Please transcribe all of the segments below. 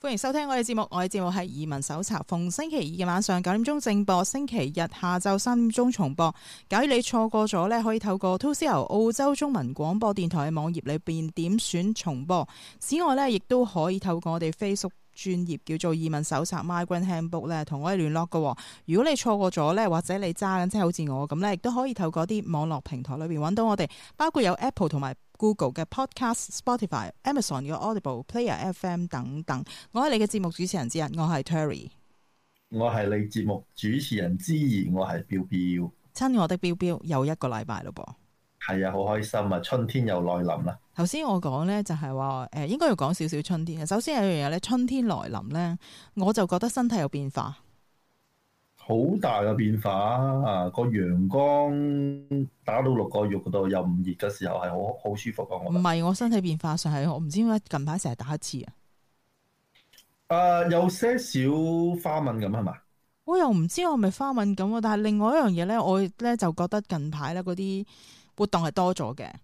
歡迎收聽我哋節目，我哋節目係移民手冊，逢星期二嘅晚上9點鐘正播，星期日下晝3點鐘重播。假如你錯過咗呢，可以透過 2CR 澳洲中文廣播電台嘅網頁裏邊點選重播。此外呢，亦都可以透過我哋 Facebook 專頁叫做移民手冊 Migrant Handbook 咧，同我哋聯絡嘅。如果你錯過咗呢，或者你揸緊即係好似我咁呢，亦都可以透過啲網絡平台裏邊揾到我哋，包括有 Apple 同埋Google 嘅 Podcast、Spotify、Amazon 嘅 Audible、Player FM 等等。我係你嘅節目主持人之一，我係 Terry。 我係你節目主持人之二，我係標標。 親我的標標，又一個禮拜咯噃。 係啊，好開心啊！春天又來臨啦。 頭先我講呢，就係話應該要講少少春天。首先有一樣嘢咧，春天來臨呢，我就覺得身體有變化。 好大嘅變化啊！個陽光打到落個肉嗰度，又唔熱嘅時候係好舒服啊！我唔係我身體變化上係我唔知點解近排成日打乞嗤啊！ 有些少花敏感係嘛？ 我又唔知我係咪花敏感啊！但係另外一樣嘢咧，我咧就覺得近排咧嗰啲活動係多咗嘅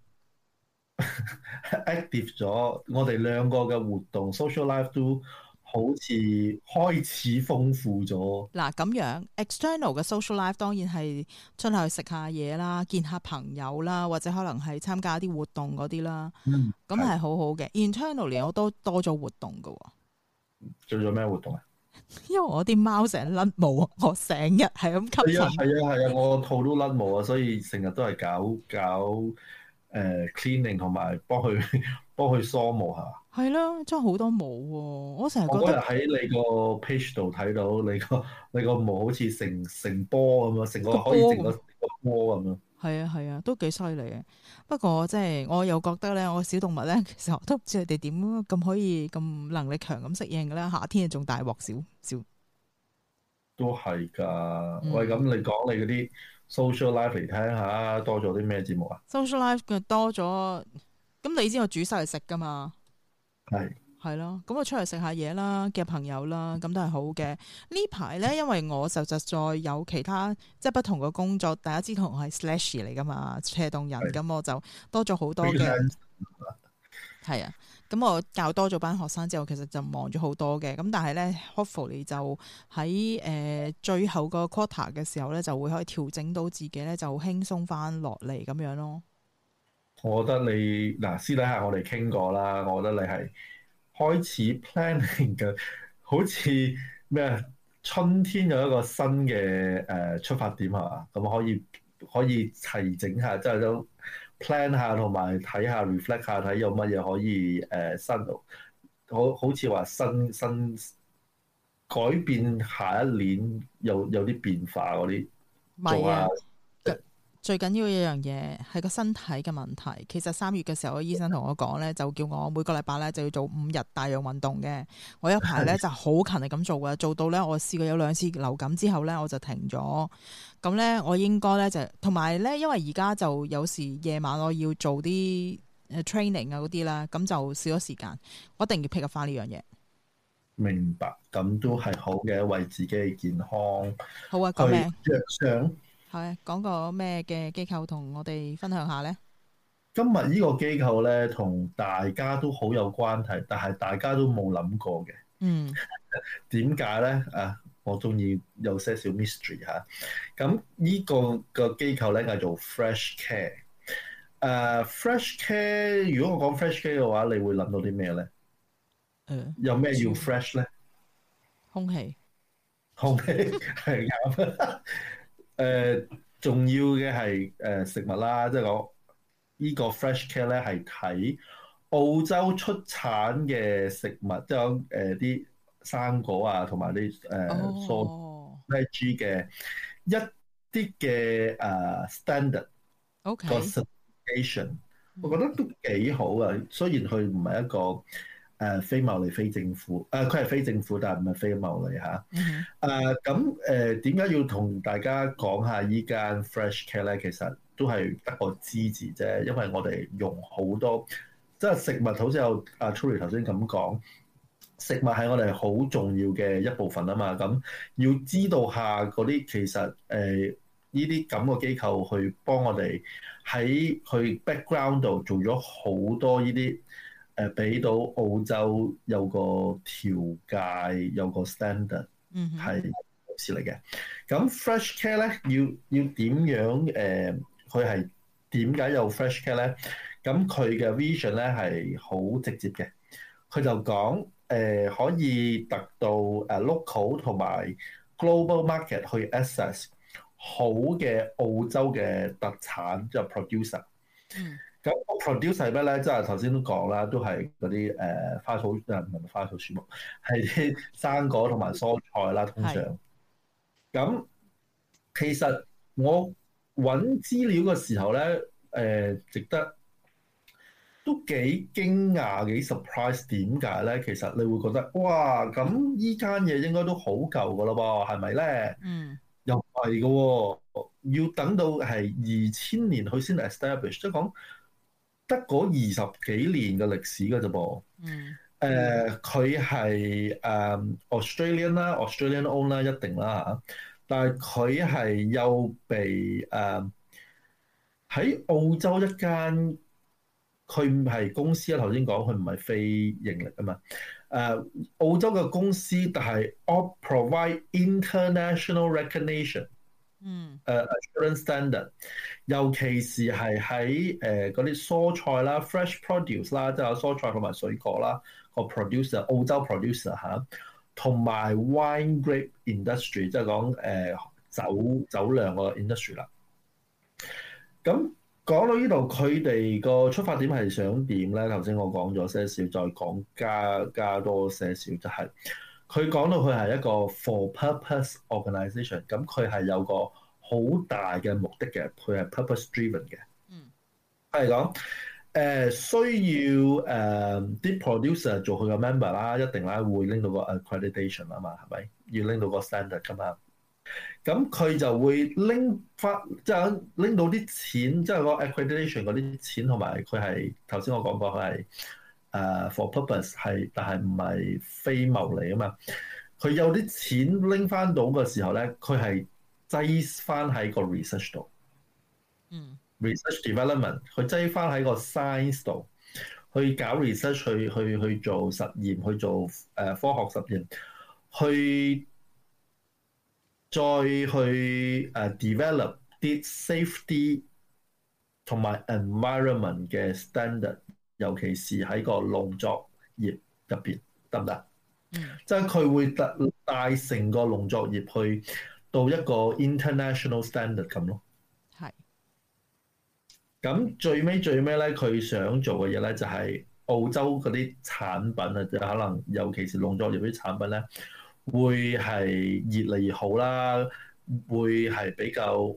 ，active 咗。我哋兩個嘅活動 social life 都好似開始豐富咗。 嗱，咁樣 external 嘅 social life 當然係出去食下嘢啦，見下朋友啦，或者可能係參加啲活動嗰啲啦。咁係好好嘅。Internally 我都多咗活動㗎喎。 做咗咩活動啊？ 因為我啲貓成日甩毛，我成日係咁吸塵。 係啊，我套都甩毛啊，所以成日都係搞cleaning 同埋幫佢梳毛係嘛？係咯，真係好多毛喎！我成日覺得我嗰日喺你個 page 度睇到你個毛好似成波咁樣，成個可以成個波咁樣。 係啊，都幾犀利嘅。不過即係我又覺得咧，我小動物咧，其實我都唔知佢哋點咁可以咁能力強咁適應嘅咧。夏天仲大鑊少。都係㗎。喂，咁你講你嗰啲 social life 嚟聽下，多咗啲咩節目啊 ？social life 佢多咗，咁你知我煮晒嚟食㗎嘛？係咯，咁我出嚟食下嘢啦，嘅朋友啦，咁都係好嘅。呢排咧，因為我實在有其他即係不同嘅工作，大家知道我係 slash 嚟噶嘛，斜動人，咁我就多咗好多嘅。係啊，咁我教多咗班學生之後，其實就忙咗好多嘅。咁但係咧 hopefully 就喺最後個 quarter 嘅時候咧，就會可以調整到自己咧，就輕鬆翻落嚟咁樣咯。 我覺得你私底下我哋傾過啦，我覺得你係開始 planning 嘅，好似咩春天有一個新嘅出發點係嘛？咁可以齊整下，即係都 plan 下同埋睇下 reflect 下，睇有乜嘢可以新，好似話新改變下一年有啲變化嗰啲做下。 最緊要一樣嘢係個身體嘅問題。其實3月嘅時候，醫生同我講咧，就叫我每個禮拜咧就要做5日大量運動嘅。我有排咧就好勤力咁做嘅，做到咧我試過有2次流感之後咧我就停咗。咁咧我應該咧就同埋咧，因為而家就有時夜晚我要做啲training 啊嗰啲啦，咁就少咗時間。我一定要 pick up 翻呢樣嘢。 明白，咁都係好嘅，為自己嘅健康。 好啊，講咩？ 着想。 係講個咩嘅機構同我哋分享下呢？ 今日呢個機構咧，同大家都好有關係，但係大家都冇諗過嘅。點解咧？我中意有些少 mystery 嚇。咁呢個機構咧叫做 Fresh Care。Fresh Care， 如果我講 Fresh Care 嘅話，你會諗到啲咩咧？有咩要 fresh 咧？空氣係啱。重要嘅係食物啦，即係講呢個 Fresh Care 咧係睇澳洲出產嘅食物，即係講啲生果啊，同埋啲蔬 veg 嘅一啲嘅standard 個 certification，我覺得都幾好啊。雖然佢唔係一個非牟利非政府，佢係非政府，但係唔係非牟利嚇。咁點解要同大家講下依間 Fresh Care 咧？其實都係得個支持啫，因為我哋用好多即係食物，好似有阿 Tury 頭先咁講，食物係我哋好重要嘅一部分啊嘛。咁要知道下嗰啲其實呢啲咁嘅機構去幫我哋喺佢 background 度做咗好多呢啲俾到澳洲有個條界，有個 standard 係好事嚟嘅。咁 Fresh Care 咧要點樣佢係點解有 Fresh Care 咧？咁佢嘅 vision 咧係好直接嘅，佢就講可以達到local 同埋 global market 去 access 好嘅澳洲嘅特產，即係 producer。咁 producer 係咩咧？即係頭先都講啦，都係嗰啲花草唔係花草樹木，係啲生果同埋蔬菜啦。通常咁其實我揾資料嘅時候咧，值得都幾驚訝幾 surprise。點解咧？其實你會覺得哇，咁依間嘢應該都好舊噶咯噃，係咪咧？又唔係嘅喎，要等到係2000年佢先 establish，即係講得嗰20幾年嘅歷史嘅啫噃。佢係Australian 啦，Australian own 啦，一定啦嚇。但係佢係又被喺澳洲一間，佢唔係公司啊。頭先講佢唔係非盈利啊嘛。澳洲嘅公司，但係 provide international recognition，assurance standard， 尤其是係喺嗰啲蔬菜啦 ，fresh produce 啦，即係有蔬菜同埋水果啦，個 producer 澳洲 producer 嚇，同埋 wine grape industry， 即係講酒釀個 industry 啦。咁講到呢度，佢哋個出發點係想點咧？頭先我講咗些少，再講加多些少，就係佢講到佢係一個 for purpose organisation， 咁佢係有個好大嘅目的嘅，佢係 purpose driven 嘅。係講需要啲 producer 做佢嘅 member 啦，一定啦會拎到個 accreditation 啊嘛，係咪？要拎到個 standard 㗎嘛。咁佢就會拎翻，即係拎到啲錢，即係個 accreditation 嗰啲錢，同埋佢係頭先我講過佢係for purpose 係，但係唔係非牟利啊嘛。佢有啲錢拎翻到嘅時候咧，佢係擠翻喺個 research 度，research development， 佢擠翻喺個 science 度，去搞 research， 去做實驗，去做科學實驗，去再去develop 啲 safety 同埋 environment 嘅 standard， 尤其是喺個農作業入邊，得唔得？即係佢會帶成個農作業去到一個 international standard 咁咯。係。咁最尾咧，佢想做嘅嘢咧就係澳洲嗰啲產品啊，就可能尤其是農作業啲產品咧，會係越嚟越好啦，會係比較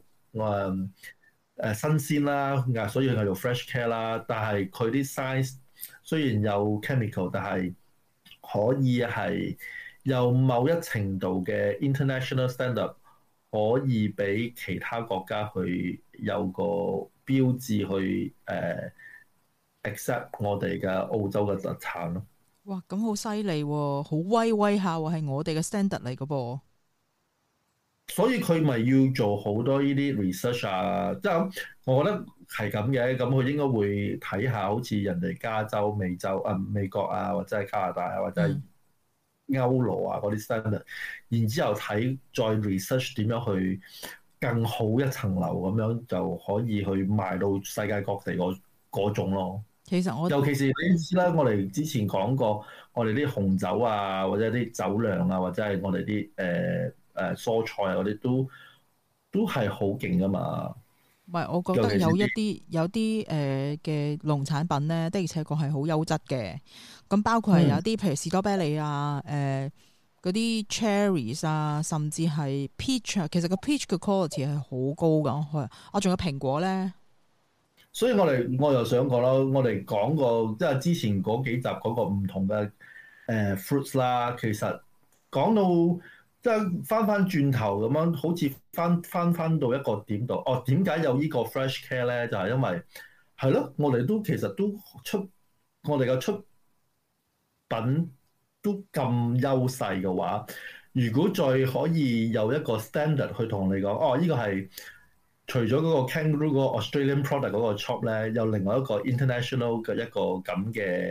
新鮮啦，所以佢做 fresh care 啦。但係佢啲 size 雖然有 chemical， 但係可以係有某一程度嘅 international standard， 可以俾其他國家去有個標誌去accept 我哋嘅澳洲嘅特產咯。 哇，咁好犀利喎，好威下喎，係我哋嘅 standard 嚟嘅噃。 所以佢咪要做好多呢啲 research 啊，即係我覺得係咁嘅。咁佢應該會睇下好似人哋加州、美國啊，或者係加拿大啊，或者係歐羅啊嗰啲 standard， 然之後睇再 research 點樣去更好一層樓咁樣，就可以去賣到世界各地嗰種咯。其實尤其是你知啦，我哋之前講過，我哋啲紅酒啊，或者啲酒釀啊，或者係我哋啲蔬菜啊嗰啲都係好勁噶嘛。唔係，我覺得有啲嘅農產品咧，的而且確係好優質嘅。咁包括係有啲譬如士多啤梨啊，嗰啲 cherries 啊，甚至係 peach 啊。其實個 peach 嘅 quality 係好高噶。仲有蘋果咧。所以我又想講啦，我哋講過即係之前嗰幾集嗰個唔同嘅fruits 啦，其實講到即係翻轉頭咁樣，好似翻到一個點度。點解有呢個 fresh care 咧？就係因為係咯，我哋都其實都我哋嘅出品都咁優勢嘅話，如果再可以有一個 standard 去同你講，呢個係。除咗嗰個 kangaroo 嗰個 Australian product 嗰個 shop 咧，有另外一個 international 嘅一個咁嘅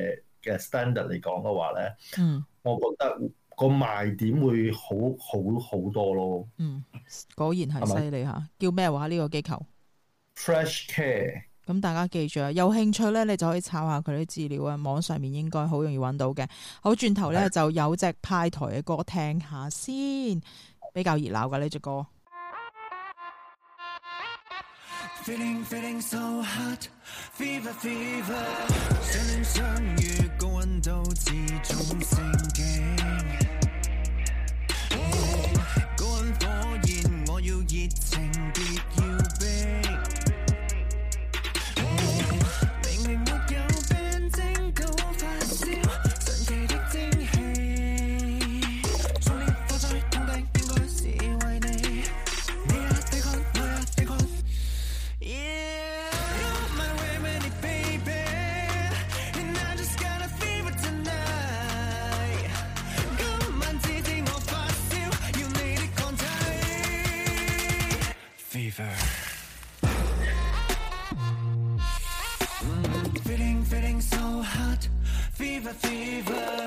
嘅 standard 嚟講嘅話咧，我覺得個賣點會好多咯。 果然係犀利嚇，叫咩話呢個機構 Fresh Care。咁大家記住啊，有興趣咧，你就可以抄下佢啲資料啊，網上面應該好容易揾到嘅。好，轉頭咧就有隻派台嘅歌聽下先，比較熱鬧嘅呢隻歌。 Feeling so hot, fever fever， 相戀相遇高溫度始終升勁，高溫火焰我要熱情別要逼，明明沒有病徵都發燒，神奇的蒸汽，壯烈火災痛的應該是為你，你也抵抗，我也抵抗。Yeah, you're my remedy, baby, and I just got a fever tonight. 今晚只知我發燒，要你的抗體。Fever, feeling so hot. Fever, fever.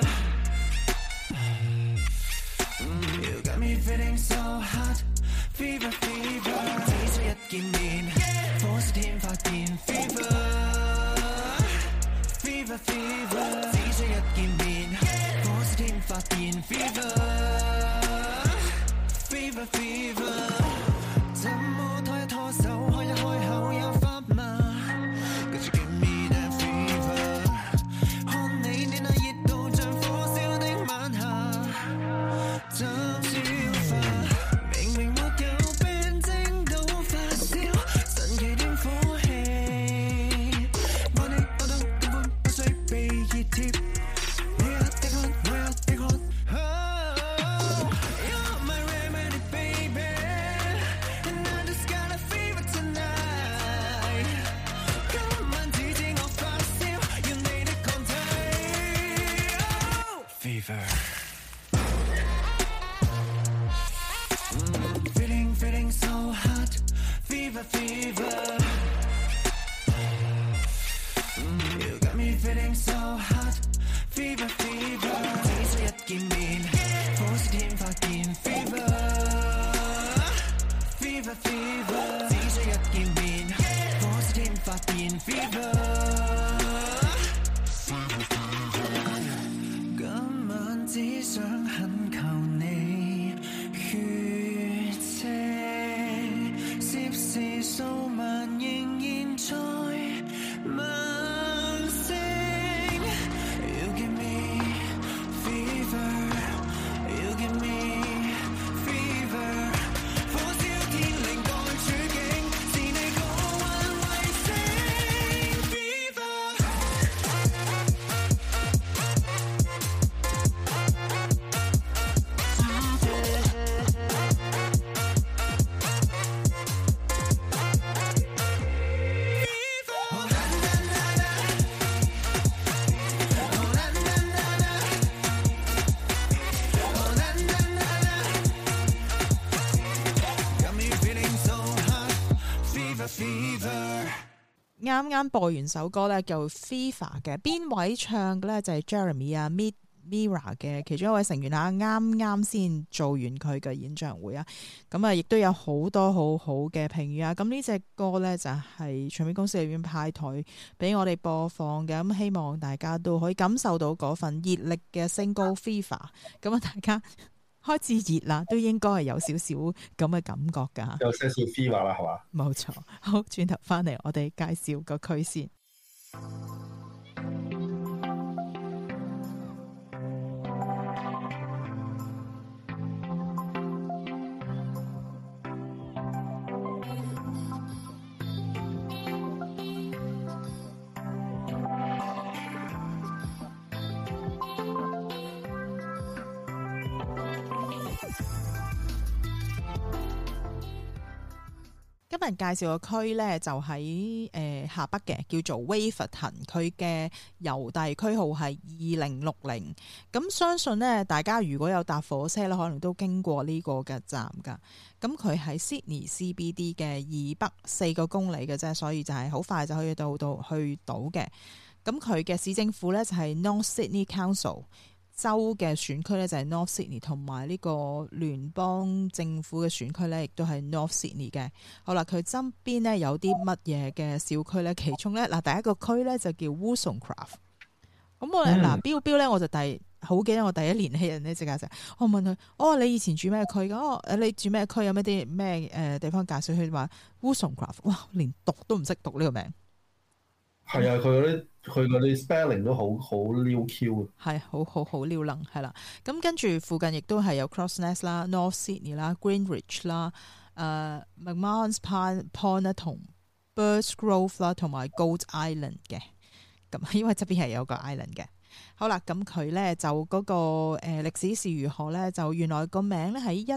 You got me feeling so hot. Fever, fever. 只需一見面。火燒天發現 fever fever fever， 只需一見面，火燒天發現 fever fever fever， 怎麼拖一拖手，開一開口有法嗎？跟住 give me that fever， 看你那熱度像火燒的晚霞，怎消化？明明沒有病徵都發燒。神奇的火氣，愛你愛到根本不需被熱貼，你也抵抗，我也抵抗。Oh, you're my remedy, baby, and I just got a fever tonight. 今晚只知我發燒，要你的抗體。Oh, fever, feeling so hot. Fever, fever, you got me feeling so hot. Fever, fever， 只需一見面，火燒天發現 fever fever fever， 只需一見面，火燒天發現 fever。今晚只想懇求你血清。攝氏數萬仍然在猛升 You give me fever You give me fever 火燒天靈幹處境是你過運衛星 Fever 啱啱播完首歌咧，叫 Fever 嘅，邊位唱嘅咧就係 Jeremy 啊 Mira 嘅其中一位成員啊，啱啱先做完佢嘅演唱會啊，咁啊亦都有好多好好嘅評語啊，咁呢隻歌咧就係唱片公司裏邊派台俾我哋播放嘅，咁希望大家都可以感受到嗰份熱力嘅single Fever，咁啊大家開始熱啦，都應該係有少少咁嘅感覺噶， 有些少 fever 啦，係嘛？ 冇錯。好，轉頭翻嚟，我哋介紹個區先。今日介紹個區咧就喺下北嘅，叫做威佛騰，佢嘅郵遞區號係2060。咁相信咧，大家如果有搭火車咧，可能都經過呢個嘅站噶。咁佢喺 Sydney CBD 嘅以北4個公里嘅啫，所以就係好快就可以去到嘅。 咁佢嘅市政府咧就係 North Sydney Council， 州嘅選區咧就係 North Sydney， 同埋呢個聯邦政府嘅選區咧亦都係 North Sydney 嘅。好啦，佢側邊咧有啲乜嘢嘅小區咧？其中咧嗱，第一個區咧就叫 Wollstonecraft。咁我嗱標咧，我就好記得我第一年輕人呢，即刻就我問佢，你以前住咩區㗎？你住咩區？有咩啲咩地方介紹？佢話 Wollstonecraft， 哇，連讀都唔識讀呢個名。 係啊，佢嗰啲 spelling 都好溜 Q 啊，係好溜能係啦。咁跟住附近亦都係有 Crows Nest 啦、North Sydney 啦、Greenwich 啦、McMahon's Point 啦同 Birds Grove 啦，同埋 Gold Island 嘅。咁因為側邊係有個 island 嘅。好啦，咁佢咧就嗰個歷史是如何咧？就原來個名咧喺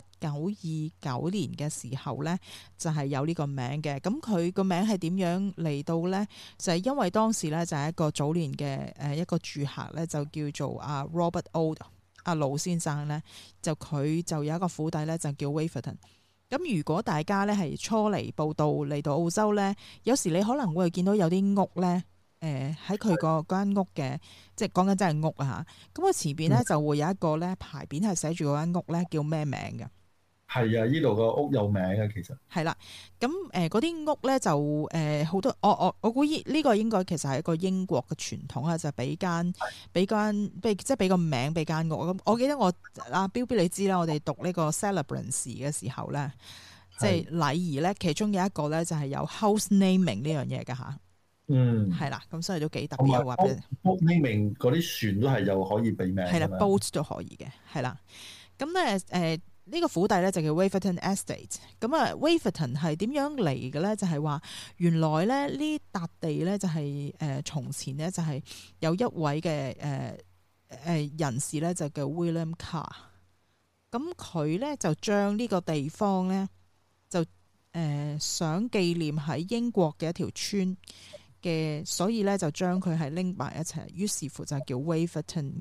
1929年嘅時候咧就係有呢個名嘅。咁佢個名係點樣嚟到咧？就係因為當時咧就係一個早年嘅一個住客咧就叫做阿 Robert Old 阿盧先生咧，就佢就有一個府邸咧就叫 Waverton。咁如果大家咧係初嚟報到嚟到澳洲咧，有時你可能會見到有啲屋咧。喺佢個間屋嘅，即係講緊真係屋啊嚇！咁佢前邊咧就會有一個咧牌匾係寫住嗰間屋咧叫咩名嘅？ 係啊，呢度個屋有名嘅其實。係啦，咁嗰啲屋咧就好多，我估呢個應該其實係一個英國嘅傳統啊，就俾即係俾個名俾間屋。咁我記得我標你知啦，我哋讀呢個 celebrants 嘅時候咧，即係禮儀咧，其中有一個咧就係有 house naming 呢樣嘢㗎嚇。係啦，咁所以都幾特別。話俾你 ，naming 嗰啲船都係又可以俾名。係啦 ，boat 都可以嘅，係啦。咁咧呢個府邸咧就叫 Waverton Estate。咁啊 Waverton 係點樣嚟嘅咧？就係話原來咧呢笪地咧就係從前咧就係有一位嘅人士咧就叫 William Carr。咁佢咧就將呢個地方咧就想紀念喺英國嘅一條村嘅，所以咧就將佢係拎埋一齊，於是乎就叫 Waverton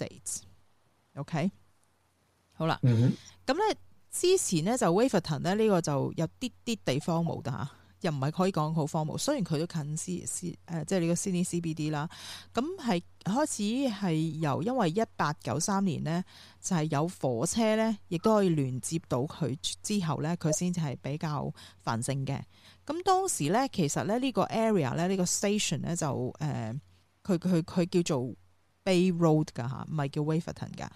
Estates。OK， 好啦，咁咧之前咧就 Waverton 咧呢個就有啲地方冇㗎嚇，又唔係可以講好荒蕪。雖然佢都近即係呢個 Sydney CBD 啦，咁係開始係因為1893年呢，就係有火車咧，亦都可以聯接到佢之後咧，佢先至係比較繁盛嘅。咁當時咧，其實咧呢個 area 咧，呢個 station 咧就佢叫做 Bay Road 㗎嚇，唔係叫 Waverton 㗎。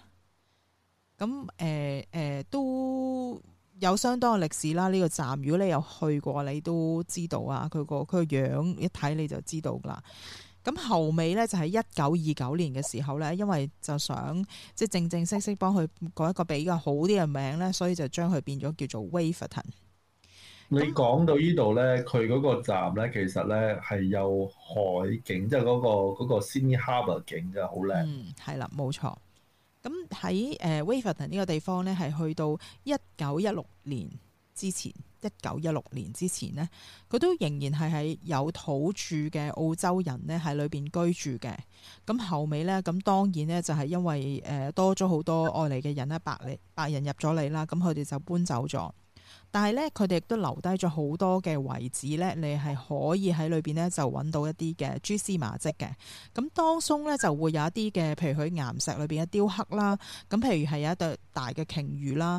咁都有相當嘅歷史啦。呢個站如果你有去過，你都知道啊。佢個樣一睇你就知道㗎啦。咁後尾咧就係1929年嘅時候咧，因為就想即係正式幫佢改一個比較好啲嘅名咧，所以就將佢變咗叫做 Waverton。 你講到呢度咧，佢嗰個站咧，其實咧係有海景，即係嗰個 Sydney Harbour 景嘅，好靚。 係啦，冇錯。咁喺Waverton 呢個地方咧，係去到1916年之前呢，佢都仍然係有土著嘅澳洲人咧喺裏邊居住嘅。咁後尾咧，咁當然咧就係因為多咗好多外嚟嘅人咧，白人入咗嚟啦，咁佢哋就搬走咗。但係咧，佢哋亦都留低咗好多嘅遺址咧，你係可以喺裏邊咧就揾到一啲嘅蛛絲馬跡嘅。咁當中咧就會有一啲嘅，譬如佢岩石裏邊嘅雕刻啦。咁譬如係有一對大嘅鯨魚啦。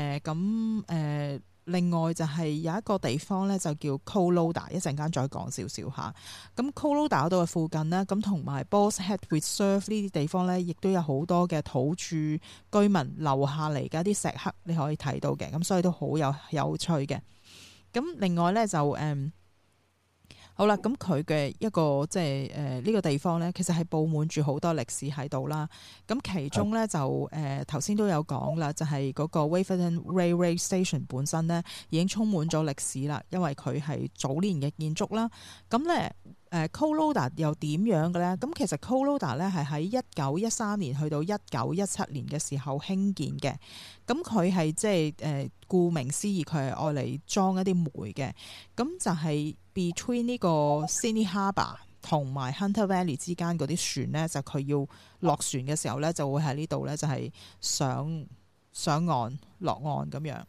另外就係有一個地方咧就叫 Cooloda， 一陣間再講少少嚇。咁 Cooloda 嗰度嘅附近呢，咁同埋 Boss Head Reserve 呢啲地方咧，亦都有好多嘅土著居民留下嚟嘅一啲石刻，你可以睇到嘅。咁所以都好有趣嘅。咁另外咧就好啦，咁佢嘅一個即係呢個地方咧，其實係佈滿住好多歷史喺度啦。咁其中咧就頭先都有講啦，就係嗰個 Waverton Railway Station 本身咧已經充滿咗歷史啦，因為佢係早年嘅建築啦。咁咧Cooloda 又點樣嘅咧？咁其實 Cooloda 咧係喺1913年去到1917年嘅時候興建嘅。咁佢係即係顧名思義，佢係愛嚟裝一啲煤嘅。咁就係 between 呢個 Sydney Harbour 同埋 Hunter Valley 之間嗰啲船咧，就佢要落船嘅時候咧，就會喺呢度咧就係上岸落岸咁樣。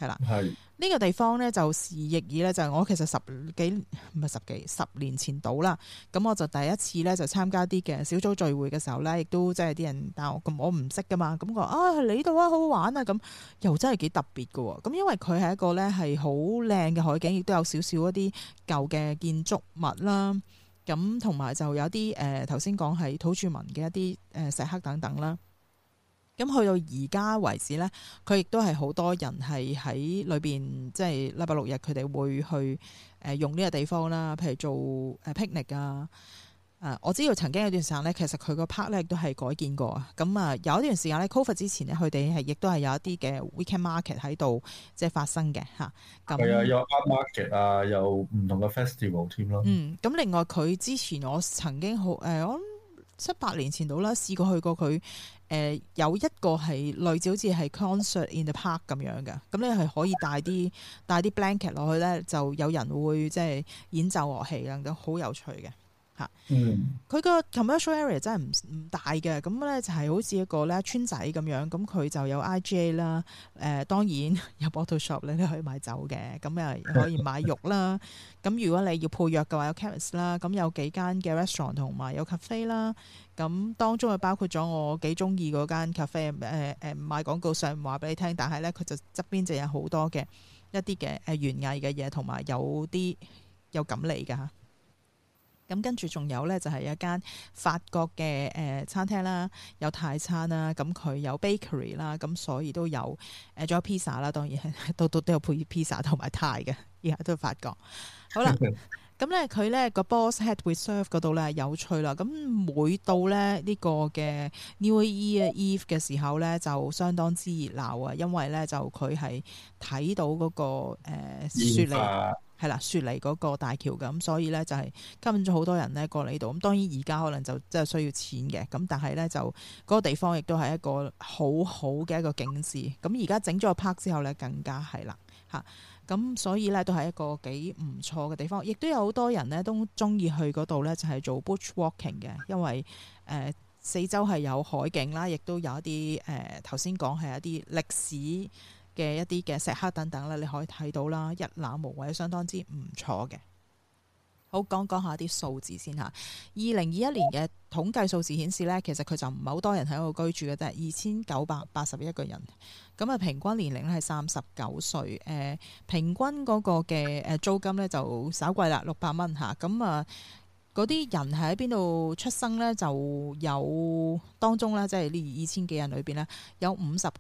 係啦。 係呢個地方咧就時亦爾咧，就係我其實十年前到啦。咁我就第一次咧就參加啲嘅小組聚會嘅時候咧，亦都即係啲人，但係我唔識噶嘛。咁我你呢度啊好好玩啊，咁又真係幾特別噶。咁因為佢係一個咧係好靚嘅海景，亦都有少少一啲舊嘅建築物啦。咁同埋就有啲頭先講係土著民嘅一啲石刻等等啦。咁去到而家為止咧，佢亦都係好多人係喺裏邊，即係禮拜六日佢哋會去用呢個地方啦，譬如做picnic 啊。我知道曾經有段時間咧，其實佢個 park 咧亦都係改建過啊。咁有一段時間咧 ，COVID 之前咧，佢哋係亦都係有一啲嘅 weekend market 喺度即係發生嘅嚇。咁係啊，有 art market 啊，有唔同嘅 festival 添咯。 咁另外佢之前我曾經我諗7-8年前到啦，試過去過佢。有一個係類似好似係 concert in the park 咁樣嘅，咁你係可以帶啲 blanket 落去咧，就有人會即係演奏樂器啦，咁好有趣嘅嚇。佢個 commercial area 真係唔大嘅，咁咧就係好似一個咧村仔咁樣，咁佢就有 IGA 啦，當然有 bottle shop 咧，你可以買酒嘅，咁又可以買肉啦。咁如果你要配藥嘅話，有 chemist 啦，咁有幾間嘅 restaurant 同埋有 cafe 啦。咁當中就包括咗我幾中意嗰間 cafe， 唔賣廣告上唔話俾你聽，但係咧佢就側邊就有好多嘅一啲嘅園藝嘅嘢，同埋有啲有錦鯉㗎。咁跟住仲有咧就係一間法國嘅餐廳啦，有泰餐啦，咁佢有 bakery 啦，咁所以都有仲有 pizza 啦，當然係都有配 pizza 同埋泰嘅，而家都法國。好啦。咁咧佢咧個 Boar's Head Reserve 嗰度咧有趣啦，咁每到咧呢個嘅 New Year Eve 嘅時候咧就相當之熱鬧啊，因為咧就佢係睇到嗰個雪梨係啦，雪梨嗰個大橋嘅，咁所以咧就係吸引咗好多人咧過嚟呢度。咁當然而家可能就真係需要錢嘅，咁但係咧就嗰個地方亦都係一個好好嘅一個景緻。咁而家整咗個 park 之後咧更加係啦嚇。咁所以咧都係一個幾唔錯嘅地方，亦都有好多人咧都中意去嗰度咧，就係做 bush walking 嘅，因為四周係有海景啦，亦都有一啲頭先講係一啲歷史嘅一啲嘅石刻等等咧，你可以睇到啦，一覽無遺，相當之唔錯嘅。好，講下啲數字先嚇。2021年嘅統計數字顯示咧，其實佢就唔係好多人喺度居住嘅，但係2981個人。咁啊，平均年齡咧係39歲。平均嗰個嘅租金咧就稍貴啦，600蚊嚇。咁啊，嗰啲人係喺邊度出生咧？就有當中咧，即係呢2000幾人裏邊咧，有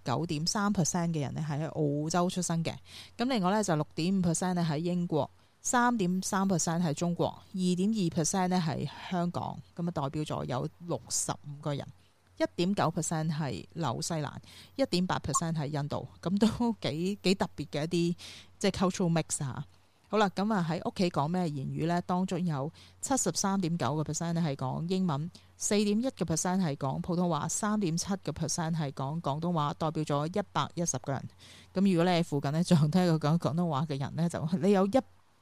59.3% 嘅人咧係喺澳洲出生嘅。咁另外咧就6.5% 咧喺英國。3.3% 係中國，2.2% 咧係香港，咁啊代表咗有65個人，1.9% 係紐西蘭，1.8% 係印度，咁都幾特別嘅一啲即係 cultural mix 嚇。好啦，咁啊喺屋企講咩言語咧？當中有73.9% 咧係講英文，4.1% 係講普通話，3.7% 係講廣東話，代表咗110個人。咁如果你喺附近咧，仲聽一個講廣東話嘅人咧，就你有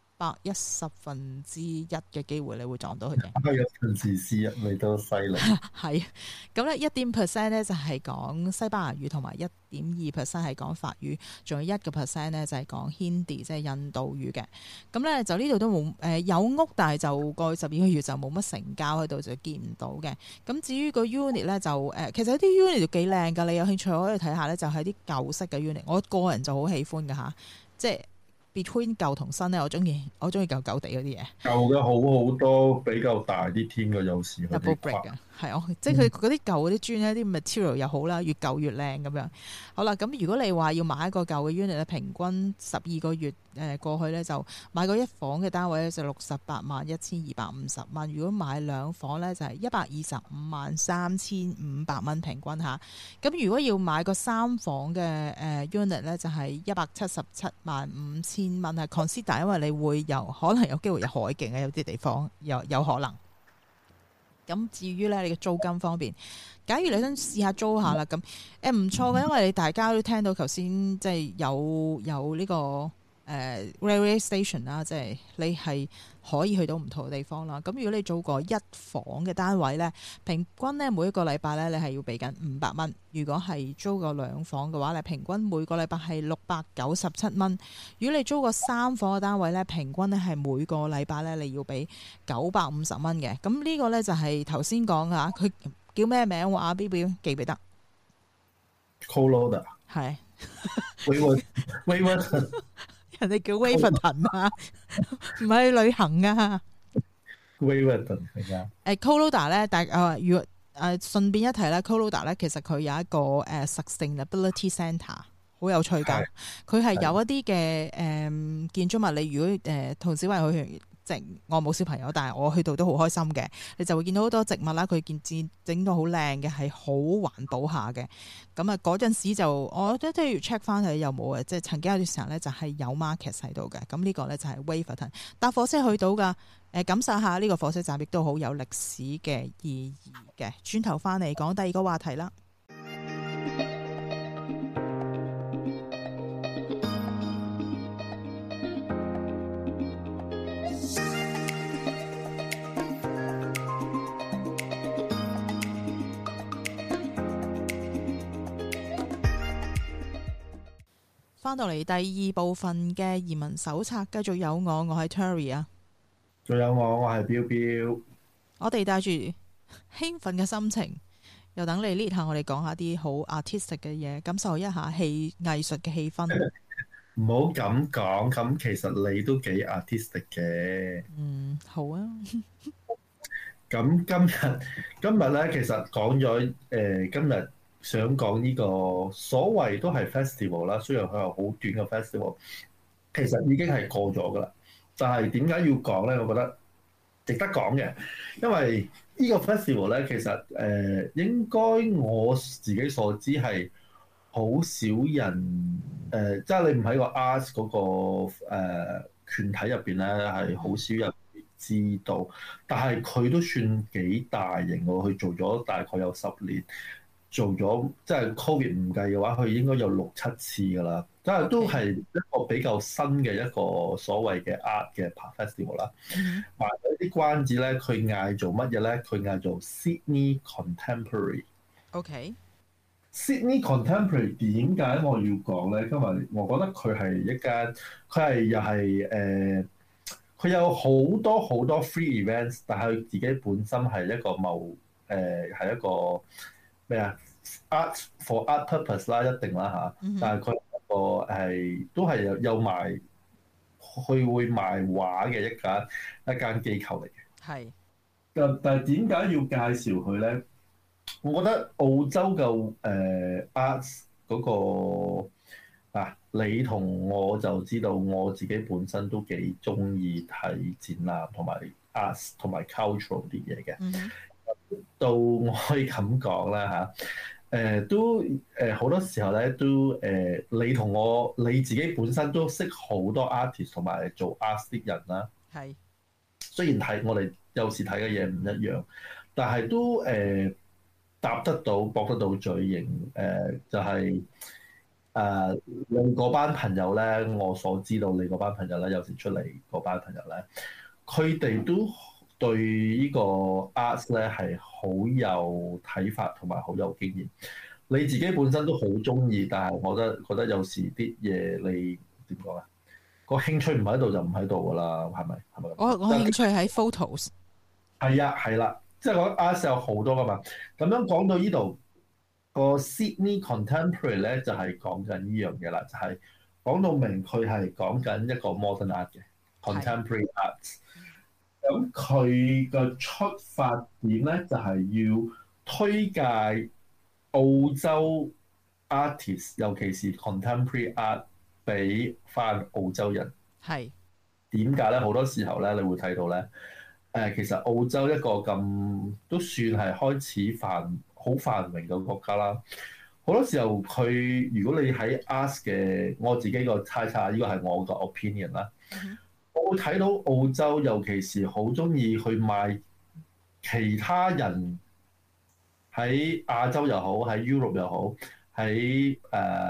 110%嘅機會，你會撞到佢嘅。 1/10你都犀利。 係咁咧，1% 咧就係講西班牙語，同埋1.2% 係講法語，仲有1% 咧就係講 Hindi， 即係印度語嘅。咁咧就呢度都冇有屋，但係就過去12個月就冇乜成交喺度，就見唔到嘅。咁至於個 unit 咧就其實啲 unit 都幾靚㗎，你有興趣可以睇下咧，就係啲舊式嘅 unit。我個人就好喜歡㗎嚇，即係。Between 舊同新咧，我中意舊地嗰啲嘢。舊嘅好多，比較大啲添嘅，有時佢哋 double brick 嘅，係即係佢嗰啲舊嗰啲磚咧，啲 material 又好啦，越舊越靚咁樣。好啦，咁如果你話要買一個舊嘅 unit 咧，平均12個月過去咧，就買個一房嘅單位咧就681250蚊。如果買兩房咧就係1253500蚊平均下。咁如果要買個三房嘅unit 咧，就係1775000蚊係 consider， 因為你會可能有機會有海景嘅，有啲地方有可能。咁至於咧，你嘅租金方面，假如你想試下租下啦，咁唔錯嘅，因為大家都聽到頭先即係有呢個 railway station 啦，即係你係可以去到唔同嘅地方啦。咁如果你租個一房嘅單位咧，平均咧每一個禮拜咧你係要俾緊500蚊。如果係租個2房嘅話咧，平均每個禮拜係697蚊。如果你租個3房嘅單位咧，平均咧係每個禮拜咧你要俾950蚊嘅。咁呢個咧就係頭先講㗎，佢叫咩名話？Bill 記唔記得 ？Coloda 係。 Waverton 人哋叫 Waverton 啊，唔係去旅行啊。 Waverton 係啊。 Coloda 咧，如果順便一提咧 Coloda 咧其實佢有一個Sustainability Centre， 好有趣㗎。佢係有一啲嘅建築物，你如果同小慧去。我冇小朋友，但係我去到都好開心嘅。你就會見到好多植物啦，佢整到好靚嘅，係好環保下嘅。咁啊，嗰陣時就我都要 check 翻佢有冇嘅，即係曾經有段時間咧就係有 market 喺度嘅。咁呢個咧就係 Waverton 搭火車去到㗎。感受下呢個火車站亦都好有歷史嘅意義嘅。轉頭翻嚟講第二個話題啦。翻到嚟第二部分嘅移民手冊，繼續有我係 Terry 啊， 仲有我係 Bill Bill。 我哋帶住興奮嘅心情，又等你 lead 下我哋講下啲好 artistic 嘅嘢，感受一下藝術嘅氣氛。 唔好咁講，咁其實你都幾 artistic 嘅。 好啊。 咁今日咧，其實講咗今日。想講呢個所謂都係 festival 啦，雖然佢係好短嘅 festival，其實已經係過咗噶啦。但係點解要講咧？我覺得值得講嘅，因為呢個 festival 咧，其實應該我自己所知係好少人即係你唔喺個 art 嗰個團體入邊咧，係好少人知道。但係佢都算幾大型喎，佢做咗大概有10年。做咗即係 Covid 唔計嘅話，佢應該有6-7次㗎啦。即係都係一個比較新嘅一個所謂嘅 art 嘅 festival 啦。賣咗啲關子咧，佢嗌做乜嘢咧？佢嗌做 Sydney Contemporary。Sydney Contemporary 點解我要講咧？因為我覺得佢係一間，佢係又係佢有好多 free events，但係佢自己本身係一個係一個。咩啊 ？Art for art purpose 啦，一定啦嚇。但係佢都係有賣，佢會賣畫嘅一間機構嚟嘅。 係。 但係點解要介紹佢咧？我覺得澳洲嘅art 嗰個你同我就知道，我自己本身都幾中意睇展覽同埋 art 同埋 cultural 啲嘢嘅。到我可以咁講啦嚇，都好多時候咧都你同我你自己本身都識好多 artist 同埋做 art 啲人啦。係。雖然我哋有時睇嘅嘢唔一樣，但係都答得到駁得到嘴型。就係你嗰班朋友咧，我所知道你嗰班朋友咧，有時出嚟嗰班朋友咧，佢哋都對呢個 art 咧係好有睇法同埋好有經驗。你自己本身都好中意，但係我覺得有時啲嘢你點講啊？個興趣唔喺度就唔喺度㗎啦，係咪？ 我興趣喺 photos。 係啊，係啦，即係講 art 有好多㗎嘛。咁樣講到呢度，個 Sydney Contemporary 咧就係講緊呢樣嘢啦，就係講到明佢係講緊一個 modern art 嘅 contemporary art。咁佢個出發點咧就係要推介澳洲 artist， 尤其是 contemporary art 俾翻澳洲人。係點解咧？好多時候咧，你會睇到咧，其實澳洲一個咁都算係開始好繁榮嘅國家啦。好多時候佢如果你喺 art 嘅，我自己個猜測，呢個係我個 opinion 啦。我會睇到澳洲，尤其是好中意去賣其他人喺亞洲又好，喺 Europe 又好，喺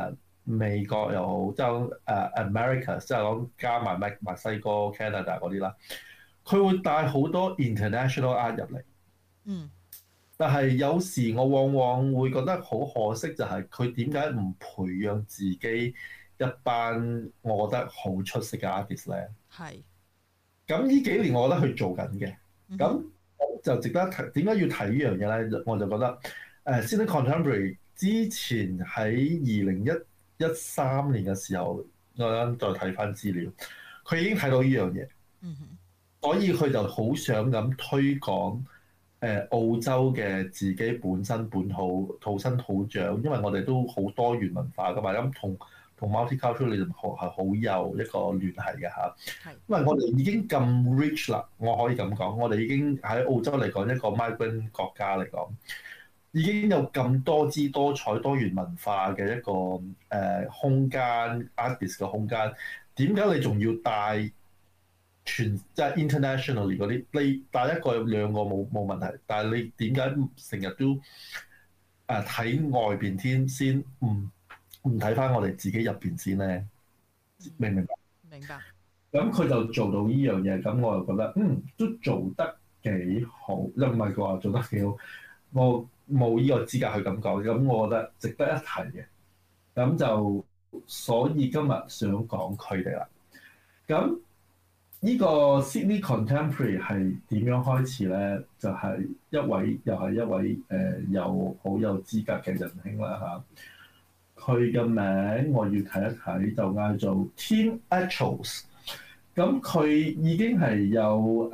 美國又好，即係America，即係講加埋墨西哥、Canada 嗰啲啦，佢會帶好多 international art 入嚟。 嗯。 但係有時我往往會覺得好可惜，就係佢點解唔培養自己一班我覺得好出色嘅 artist 咧？係。咁呢幾年我覺得佢做緊嘅，咁就值得提。點解要提呢樣嘢咧？我就覺得Sydney Contemporary 之前喺2013年嘅時候，我啱再睇翻資料，佢已經睇到呢樣嘢，所以佢就好想咁推廣澳洲嘅自己本身本土土生土長，因為我哋都好多元文化噶嘛，咁同 multiculturalism 係好有一個聯繫嘅嚇。因為我哋已經咁 rich 啦，我可以咁講，我哋已經喺澳洲嚟講一個 migrant 國家嚟講，已經有咁多姿多彩多元文化嘅一個空間 artist 嘅空間，點解你仲要帶即係 internationally 嗰啲？你帶一個兩個冇問題，但係你點解成日都睇外邊天先唔睇翻我哋自己入邊先咧？明唔明白？明白。咁佢就做到呢樣嘢，咁我就覺得都做得幾好，又唔係話做得幾好，我冇呢個資格去咁講，咁我覺得值得一提嘅。咁就所以今日想講佢哋啦。咁呢個 Sydney Contemporary 係點樣開始咧？就係又係一位有好有資格嘅仁兄啦嚇。佢嘅名我要睇一睇，就嗌做 Tim Etchalls。咁佢已經係有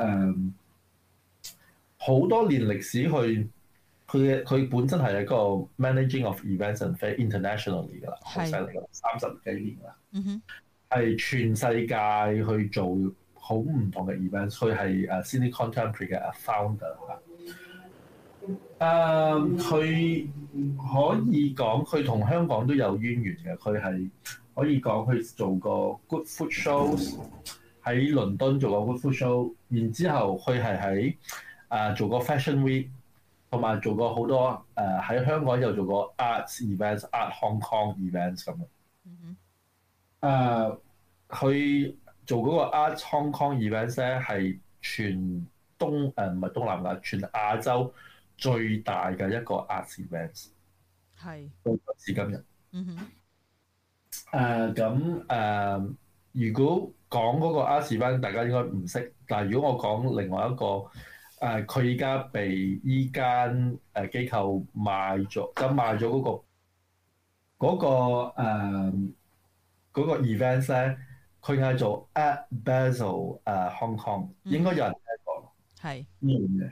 好多年歷史去，佢本身係一個 managing of events and fair internationally 㗎啦，好犀利㗎，30幾年啦。係全世界去做好唔同嘅 events。佢係Sydney Contemporary 嘅 founder 嚇。佢可以講佢同香港都有淵源嘅。佢係可以講佢做過 Good Food Shows， 喺倫敦做過 Good Food Show， 然之後佢係喺做過 Fashion Week， 同埋做過好多喺香港又做過 Arts Events、Art Hong Kong Events 咁樣。佢做嗰個 Art Hong Kong Events 咧係全唔係東南亞，全亞洲最大嘅一個 Arts Events， 係到至今日。如果講嗰個 Arts Event， 大家應該唔識。但係如果我講另外一個，佢而家被依間機構賣咗，咁賣咗嗰個 events 咧，佢嗌做 Art Basel Hong Kong， 應該有人聽過。係呢樣嘢。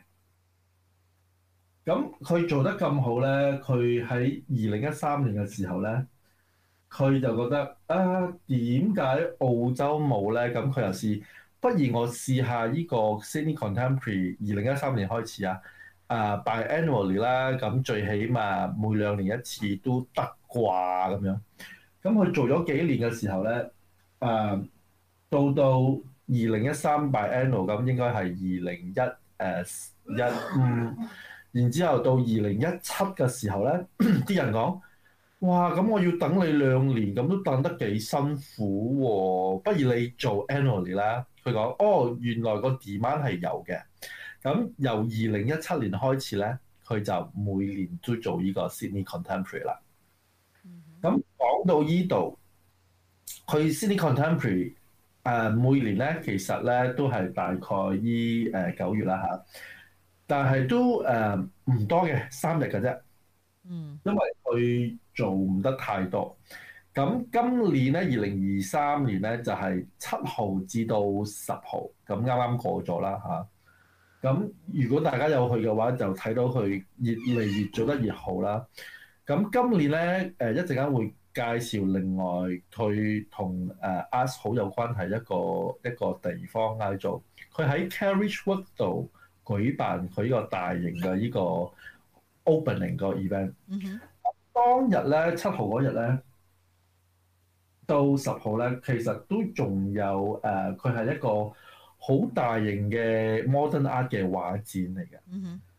咁佢做得咁好咧，佢喺2013年嘅時候咧，佢就覺得點解澳洲冇咧？咁佢又試，不如我試下呢個 Sydney Contemporary 2013年開始biannually 啦，咁最起碼每2年一次都得啩咁樣。咁佢做咗幾年嘅時候咧，到2013 biannual， 咁應該係2015。然之後到2017嘅時候咧，啲人講：哇，咁我要等你2年，咁都等得幾辛苦喎，不如你做 annually 啦。佢講：原來個 demand 係有嘅。咁由2017年開始咧，佢就每年都做呢個 Sydney Contemporary 啦。咁講到呢度，佢 Sydney Contemporary 每年咧其實咧都係大概9月啦嚇。但係都唔多嘅，3日嘅啫。因為佢做唔得太多。咁今年咧，2023年咧就係7號至到10號，咁啱啱過咗啦嚇。咁如果大家有去嘅話，就睇到佢越嚟越做得越好啦。咁今年咧一陣間會介紹另外佢同Arts 好有關係一個地方嗌做，佢喺 Carriage Wood 度舉辦佢呢個大型嘅呢個 opening 個 event。當日咧7號嗰日咧到10號咧，其實都仲有佢係一個好大型嘅 modern art 嘅畫展嚟嘅。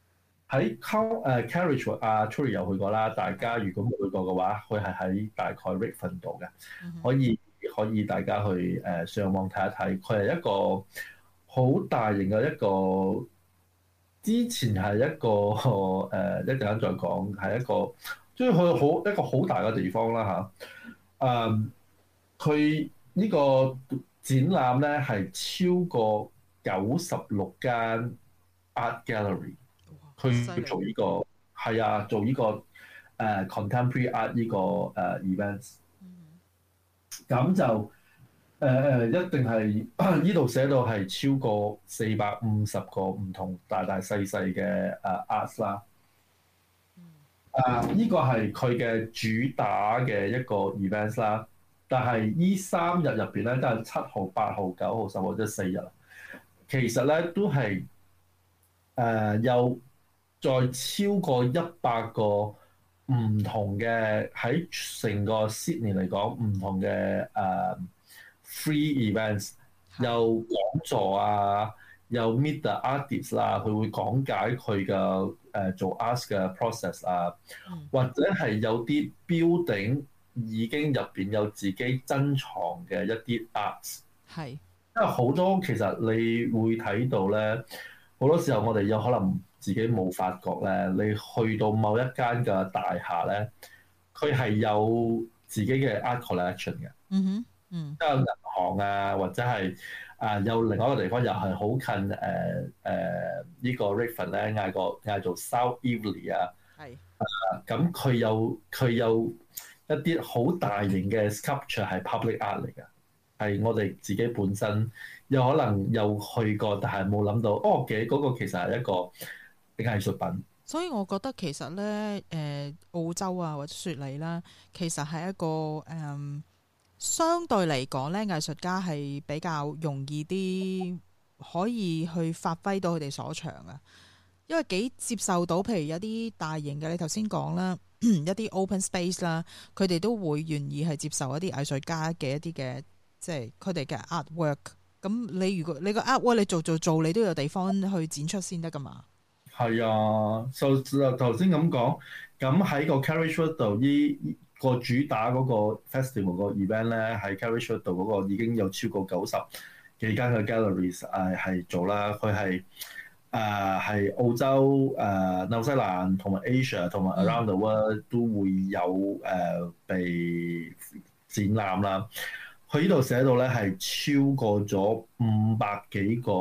喺Carriage 阿 Tury 有去過啦。大家如果冇去過嘅話，佢係喺大概 Redfern 度嘅，可以大家去上網睇一睇。佢係一個好大型嘅一個，之前係一個一陣間再講，係一個即係佢一個好大嘅地方啦嚇。佢呢個展覽咧係超過96間 art gallery。去做呢個係啊，做呢個contemporary art 呢個events，咁就一定係呢度寫到係超過450個唔同大大細細嘅arts 啦。呢個係佢嘅主打嘅一個 events 啦。但係呢3日入邊咧，都係7號、8號、9號、10號即係4日。其實咧都係有再超過100個唔同嘅喺成個 Sydney 嚟講唔同嘅free events，有講座啊，有 meet the artist 啦，佢會講解佢嘅做 art 嘅 process 啊，或者係有啲 building 已經入邊有自己珍藏嘅一啲 arts， 係因為好多其實你會睇到咧，好多時候我哋有可能自己冇發覺咧，你去到某一間嘅大廈咧，佢係有自己嘅 art collection 嘅。即係銀行啊，或者係有另外一個地方又係好近呢個 Redfern 咧，嗌做 South Eveleigh 啊。咁佢有一啲好大型嘅 sculpture 係 public art 嚟嘅，係我哋自己本身有可能有去過，但係冇諗到嗰個其實係一個藝術品。 所以我覺得其實咧，澳洲啊或者雪梨啦，其實係一個相對嚟講咧，藝術家係比較容易啲可以去發揮到佢哋所長啊，因為幾接受到，譬如有啲大型嘅，你頭先講啦，一啲 open space 啦，佢哋都會願意係接受一啲藝術家嘅一啲嘅，即係佢哋嘅 artwork。咁你如果你個 artwork 你做，你都有地方去展出先得噶嘛。係啊，就頭先咁講，咁喺個 Carriage Wood 度呢個主打嗰個 festival 個 event 咧，喺 Carriage Wood 度嗰個已經有超過90幾間嘅 galleries 係做啦。佢係澳洲、紐西蘭同埋 Asia 同埋 around the world 都會有被展覽啦。佢呢度寫到咧係超過咗500幾個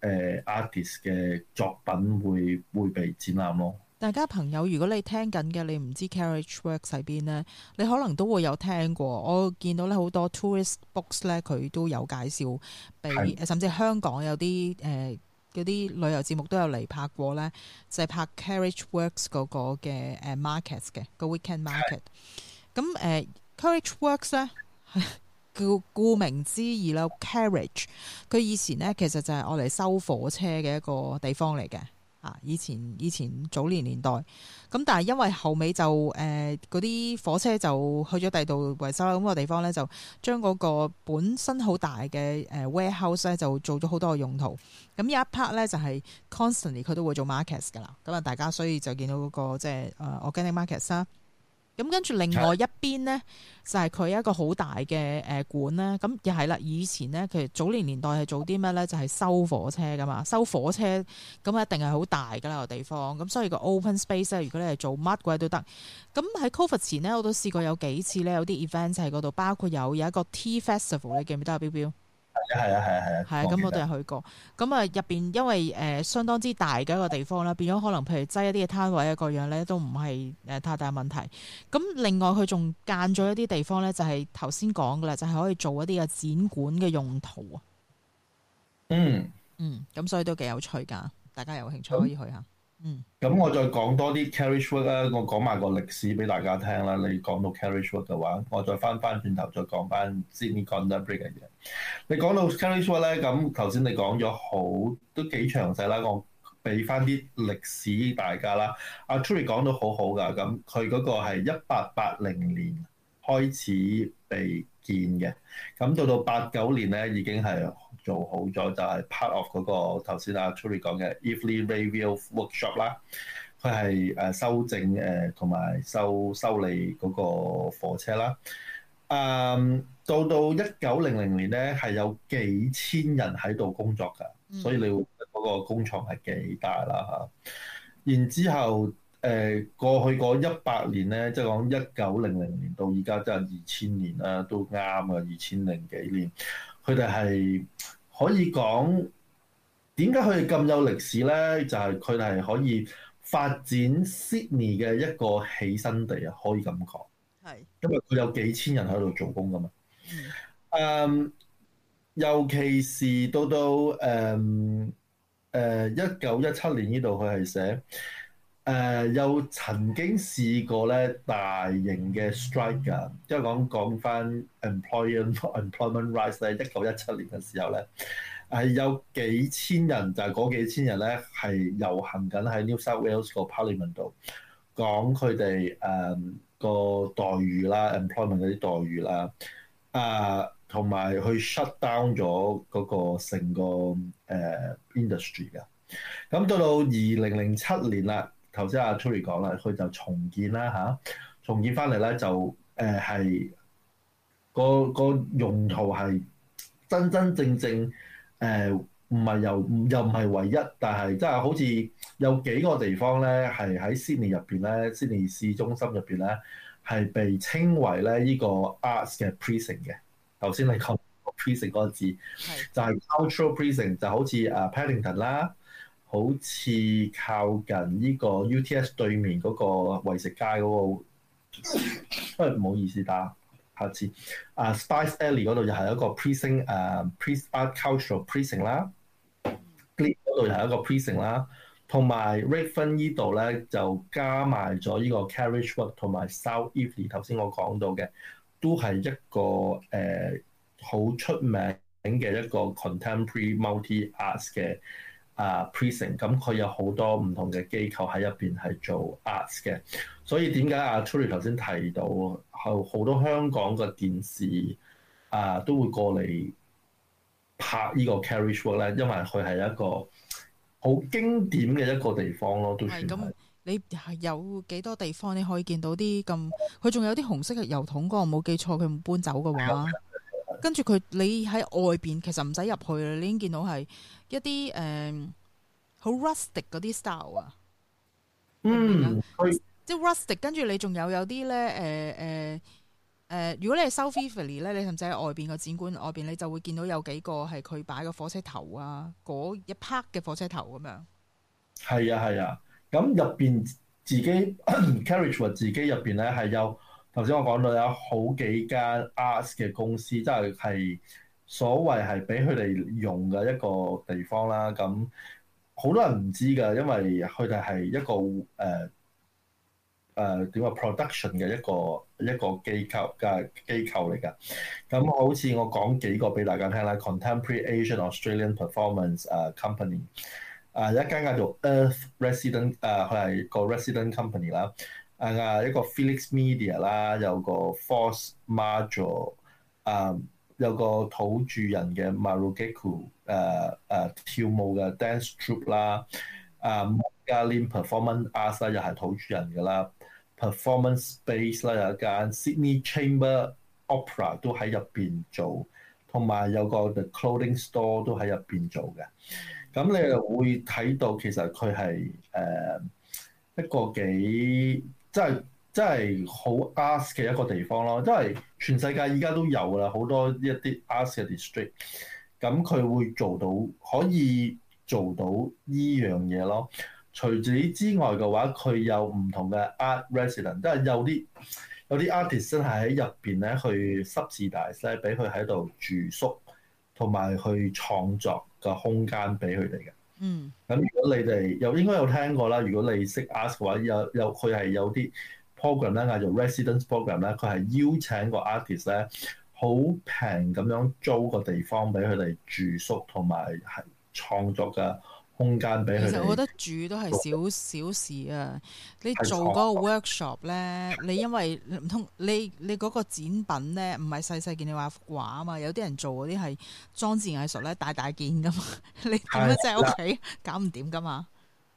artist 嘅作品會被展覽咯。大家朋友，如果你聽緊嘅，你唔知 Carriage Works 喺邊咧，你可能都會有聽過。我見到咧好多 tourist books 咧，佢都有介紹俾，甚至香港有啲嗰啲旅遊節目都有嚟拍過咧，就係拍 Carriage Works 嗰個嘅market 嘅個 weekend market。咁Carriage Works 咧叫顧名思義啦 ，carriage 佢以前咧其實就係我嚟收火車嘅一個地方嚟嘅。以前早年代，咁但係因為後尾就嗰啲火車就去咗第二度維修啦，咁個地方咧就將嗰個本身好大嘅warehouse 咧就做咗好多個用途。咁有一 part 咧就係 constantly 佢都會做 markets 噶啦，咁啊大家所以就見到嗰個即係organic markets 啦。咁跟住另外一邊呢，就係佢一個好大嘅館啦。咁又係啦，以前呢，佢早年代係做啲咩呢？就係收火車噶嘛，收火車咁一定係好大噶啦個地方。咁所以個 open space 咧，如果你係做乜鬼都得。咁喺 Covid 前呢，我都試過有幾次呢，有啲 event 喺嗰度，包括有一個 Tea Festival，你記唔記得啊？標標係啊，咁我都有去過。咁啊入邊因為相當之大嘅一個地方啦，變咗可能譬如擠一啲嘅攤位啊各樣咧都唔係太大問題。咁另外佢仲間咗一啲地方咧，就係頭先講嘅啦，就係可以做一啲嘅展館嘅用途啊。咁所以都幾有趣㗎，大家有興趣可以去下。 咁我再講多啲 Carriage Wood 啦，我講埋個歷史俾大家聽啦。你講到 Carriage Wood 嘅話，我再翻轉頭再講翻 Sydney Contemporary 嘅嘢。你講到 Carriage Wood 咧，咁頭先你講咗都幾詳細啦，我俾翻啲歷史大家啦。阿 Tury 講到好好㗎，咁佢嗰個係1880年開始被建嘅，咁到89年咧已經係做好咗，就係 part of 嗰個頭先阿 Tury 講嘅 Eveleigh Rayville Workshop 啦。 佢係修正同埋修理嗰個火車啦。到1900年咧係有幾千人喺度工作㗎，所以你會覺得嗰個工廠係幾大啦嚇。然之後過去嗰100年咧，即係講1900年到而家，即係2000年啦，都啱啊，2000幾年，佢哋係可以講點解佢哋咁有歷史咧？就係佢哋係可以發展 Sydney 嘅一個起生地啊，可以咁講。係，因為佢有幾千人喺度做工噶嘛。尤其是到1917年呢度，佢係寫有曾經試過咧大型嘅 strike 㗎，即係講翻 employment rights 咧。1917年嘅時候咧，係有幾千人，就係嗰幾千人咧係遊行緊喺 New South Wales 個 Parliament 度講佢哋個待遇啦 ，employment 嗰啲待遇啦，同埋去 shut down 咗嗰個成個industry 㗎。咁到2007年啦，頭先阿 Tury 講啦，佢就重建啦嚇，重建翻嚟咧就係個用途係真真正正唔係又唔係唯一，但係即係好似有幾個地方咧係喺 Sydney 入邊咧 ，Sydney 市中心入邊咧係被稱為咧呢個 arts 嘅 precinct 嘅。頭先你講 precinct 嗰個字，就係 cultural precinct， 就好似Paddington 啦，好似靠近呢個 UTS 對面嗰個為食街嗰個，唔好意思打。下次Spice Alley 嗰度又係一個 precinct， art cultural precinct 啦 ，Glebe 嗰度又係一個 precinct 啦，同埋 Redfern 呢度咧就加埋咗呢個 Carriage Walk 同埋 South Eveleigh 頭先我講到嘅，都係一個好出名嘅一個 contemporary multi arts 嘅precinct， 咁佢有好多唔同嘅機構喺入邊係做 arts 嘅，所以點解阿 Tury 頭先提到好多香港嘅電視都會過嚟拍呢個 Carriage Walk 咧，因為佢係一個好經典嘅一個地方咯，都算係。咁你有幾多地方你可以見到啲咁？佢仲有啲紅色嘅油桶，我冇記錯，佢唔搬走嘅話，跟住你喺外邊其實唔使入去啦，你已經見到係一啲好 rustic 嗰啲 style 啊。即係 rustic， 跟住你仲有啲咧如果你係 South Eveleigh 咧，你甚至喺外邊個展館外邊，你就會見到有幾個係佢擺個火車頭啊，嗰一 part 嘅火車頭咁樣。係啊，咁入邊自己 Carriage Walk 自己入邊咧係有頭先我講到有好幾間 arts 嘅公司，即係所謂係俾佢哋用嘅一個地方啦。咁好多人唔知㗎，因為佢哋係一個點話 production 嘅一個機構嚟㗎。咁好似我講幾個俾大家聽啦 ，Contemporary Asian Australian Performance Company， 一間叫做 Earth Resident， 佢係個 Resident Company 啦。一個 Felix Media 啦，有個 Force Major， 有個土著人嘅 Marugeku， 跳舞嘅 Dance Troupe 啦，Mogalim Performance Arts 啦，又係土著人㗎啦。Performance Space 啦，有一間 Sydney Chamber Opera 都喺入邊做，同埋有個 The Clothing Store 都喺入邊做嘅。咁你又會睇到其實佢係一個幾真係好 arts 嘅一個地方咯，因為全世界而家都有啦，好多一啲 arts 嘅 district， 咁佢會可以做到依樣嘢咯。除此之外嘅話，佢有唔同嘅 art resident， 即係有啲 artist 真係喺入邊咧去 subsidize 咧，俾佢喺度住宿同埋去創作嘅空間俾佢哋嘅。咁如果你哋應該有聽過啦，如果你識 art 嘅話，佢係有啲 program 咧，嗌做 residence program 咧，佢係邀請個 artist 咧，好平咁樣租個地方俾佢哋住宿同埋係創作嘅空間俾佢哋。其實我覺得住都係小事啊！你做嗰個 workshop 咧，你因為唔通你嗰個展品咧，唔係細細件你畫幅畫啊嘛？有啲人做嗰啲係裝置藝術咧，大件噶嘛，你點樣即係屋企搞唔掂噶嘛？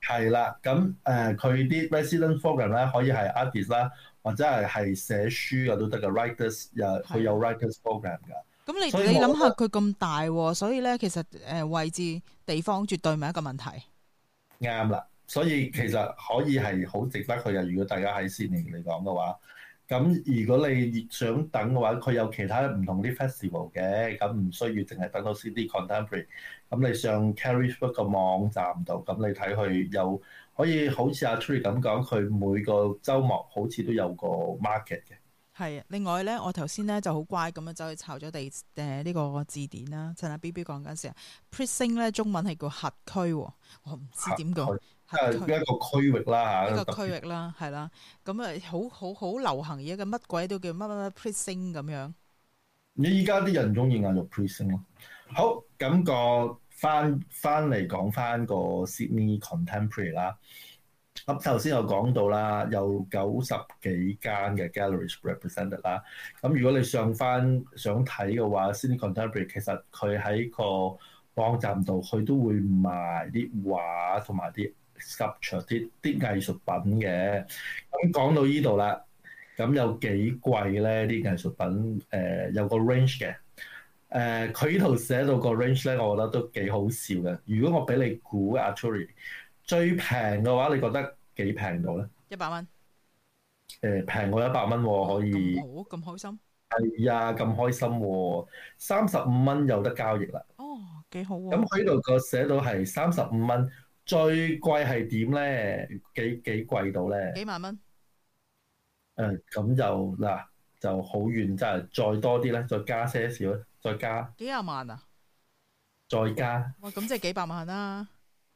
係啦，咁佢啲 resident program 咧可以係 artist 啦，或者係寫書嘅都得嘅 writers， 佢有 writers program 㗎。 咁你諗下佢咁大喎，所以咧其實位置地方絕對唔係一個問題。 啱啦，所以其實可以係好值得去嘅。如果大家喺悉尼嚟講嘅話，咁如果你想等嘅話，佢有其他唔同啲 festival 嘅，咁唔需要淨係等到 Sydney Contemporary。咁你上 Carriageford 個網站度，咁你睇佢有可以好似阿 Tury 咁講，佢每個週末好似都有個 market 嘅。 係啊，另外咧，我頭先咧就好乖咁樣走去抄咗呢個字典啦。趁阿 B B 講緊時啊 ，precinct 咧中文係叫轄區，我唔知點講， 一個區域啦嚇， 一個區域啦，係啦。咁啊，好流行而家嘅乜鬼都叫乜乜乜 precinct 咁樣。 你依家啲人中意嗌做 precinct 咯。好，咁個翻嚟講翻個 Sydney Contemporary 啦。咁頭先有講到啦，有90幾間嘅 galleries represented 啦。咁如果你想睇嘅話，Sydney Contemporary 其實佢喺個網站度，佢都會賣啲畫同埋啲 sculpture 啲藝術品嘅。咁講到呢度啦，咁有幾貴咧？啲藝術品有個 range 嘅。佢呢度寫到個 range 咧，我覺得都幾好笑嘅。如果我俾你估阿 Tury 最平嘅話，你覺得幾平到咧 ？100蚊。 平過100蚊喎，可以。 好咁開心。 係啊，咁開心喎，35蚊有得交易啦。 哦，幾好喎。 咁佢呢度個寫到係35蚊，最貴係點咧？幾貴到咧？ 幾萬蚊。 咁就好遠，真係再多啲咧，再加些少咧，再加。 幾廿萬啊？ 再加。 哇，咁即係幾百萬啦。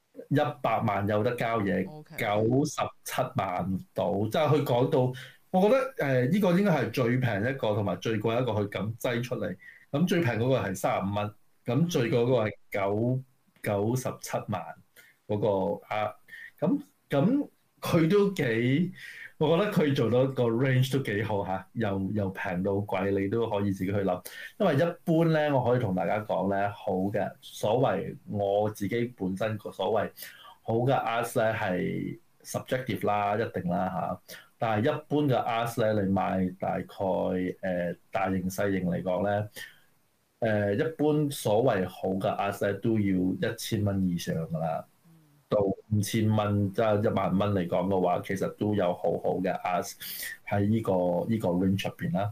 100萬有得交易，97萬到，即係佢講到，我覺得呢個應該係最平一個同埋最貴一個，佢咁擠出嚟。咁最平嗰個係35蚊，咁最貴嗰個係97萬嗰個啊。咁佢都幾，我覺得佢做到個 range 都幾好嚇，又平到貴，你都可以自己去諗。因為一般咧，我可以同大家講咧，好嘅所謂我自己本身個所謂好嘅 art 咧係 subjective 啦，一定啦嚇。但係一般嘅 art 咧，你買大概大型細型嚟講咧，一般所謂好嘅 art 咧都要1000蚊以上㗎啦。到5000蚊，即係1萬蚊嚟講嘅話，其實都有好好嘅 art 喺呢個 range 入邊啦。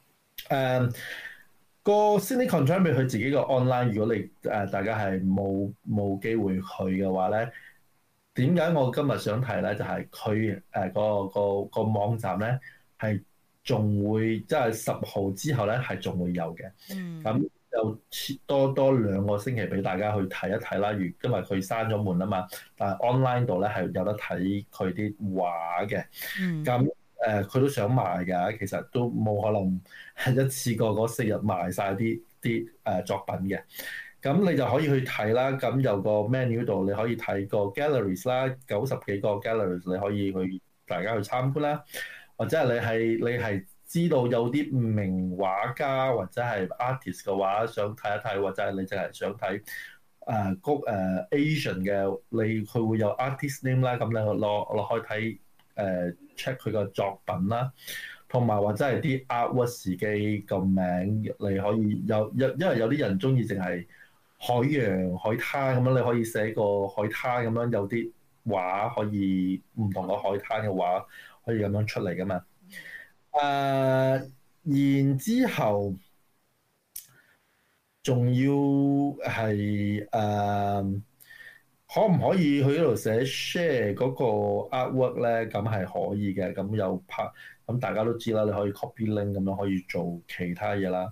個 Sydney Contemporary 佢自己個 online，如果你大家係冇機會去嘅話咧，點解我今日想提咧？就係佢個網站咧係仲會即係10號之後咧係仲會有嘅。咁就多2個星期俾大家去睇一睇啦。因為佢閂咗門啊嘛，但係 online 度咧係有得睇佢啲畫嘅。咁佢都想賣㗎，其實都冇可能係一次過嗰4日賣晒啲作品嘅。咁你就可以去睇啦。咁有個 menu 度你可以睇個 galleries 啦，90幾個 galleries 你可以去大家去參觀啦。或者係你係知道有啲名畫家或者係 artist 嘅話，想睇一睇，或者係你淨係想睇Asian 嘅，佢會有 artist name 啦，咁你落去睇check 佢個作品啦，同埋或者係啲 artwork 自己個名，你可以因為有啲人中意淨係海洋海灘咁樣，你可以寫個海灘咁樣，有啲畫可以唔同個海灘嘅畫可以咁樣出嚟噶嘛。然之後仲要係可唔可以去呢度寫 share 嗰個 artwork 咧？咁係可以嘅，咁有拍，咁大家都知啦，你可以 copy link 咁樣可以做其他嘢啦。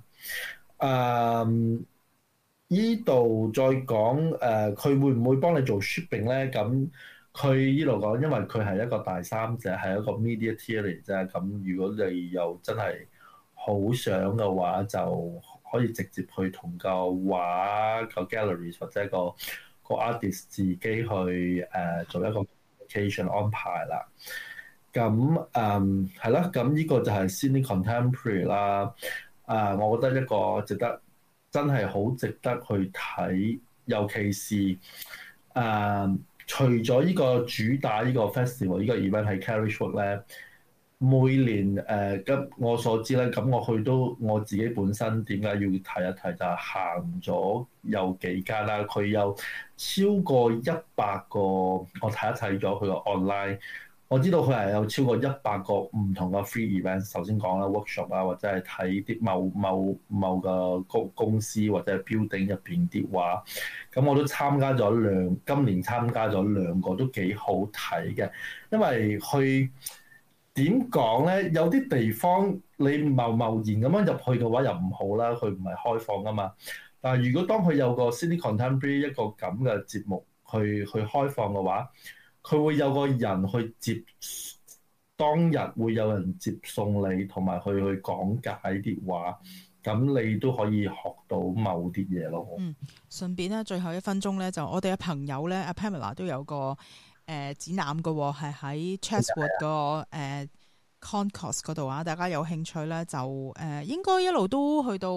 依度再講佢會唔會幫你做 shipping 咧？咁佢依度講，因為佢係一個第三者，係一個 media tier 嚟啫。咁如果你又真係好想嘅話，就可以直接去同個畫個 galleries 或者個 artist 自己去做一個 communication 安排啦。咁係啦，咁呢個就係 Sydney Contemporary 啦。我覺得一個真係好值得去睇，尤其是除咗呢個主打呢個 festival 呢個 event 係 Carriage Walk 咧，每年咁我所知咧，咁我去都我自己本身點解要提一提就係行咗有幾間啦，佢有超過100個，我睇一睇咗佢個 online。我知道佢係有超過100個唔同嘅 free event， 首先講啦 workshop 啊，或者係睇啲某個公司或者係 building 入邊啲畫。咁我都參加咗今年參加咗2個都幾好睇嘅，因為去點講咧，有啲地方你貿然咁樣入去嘅話又唔好啦，佢唔係開放㗎嘛。但係如果當佢有個 City Contemporary 一個咁嘅節目去開放嘅話，佢會有個人去當日會有人接送你，同埋去講解啲畫，咁你都可以學到某啲嘢咯。 順便咧，最後1分鐘咧，就我哋嘅朋友咧，阿 Pamela 都有個展覽嘅喎，係喺 Chatswood 個Concourse 嗰度啊。大家有興趣咧，就應該一路都去到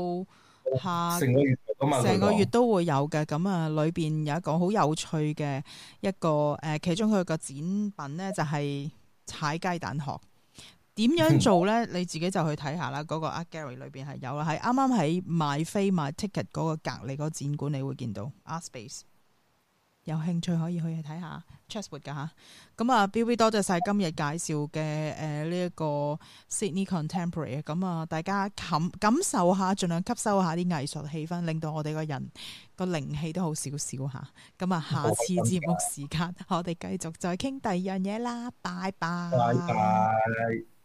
成個月都會有嘅。咁啊，裏邊有一個好有趣嘅一個其中佢個展品咧，就係踩雞蛋殼。點樣做咧？你自己就去睇下啦。嗰個 Art Gallery 裏邊係有啦，係啱啱喺買飛買 ticket 嗰個隔離嗰個展館，你會見到 Art Space。有興趣可以去睇下 Chatswood 噶嚇。咁啊，Bill 多謝晒今日介紹嘅呢一個 Sydney Contemporary。咁啊，大家感受下，盡量吸收下啲藝術氣氛，令到我哋個人個靈氣都好少少嚇。咁啊，下次節目時間我哋繼續再傾第二樣嘢啦。拜拜。 拜拜。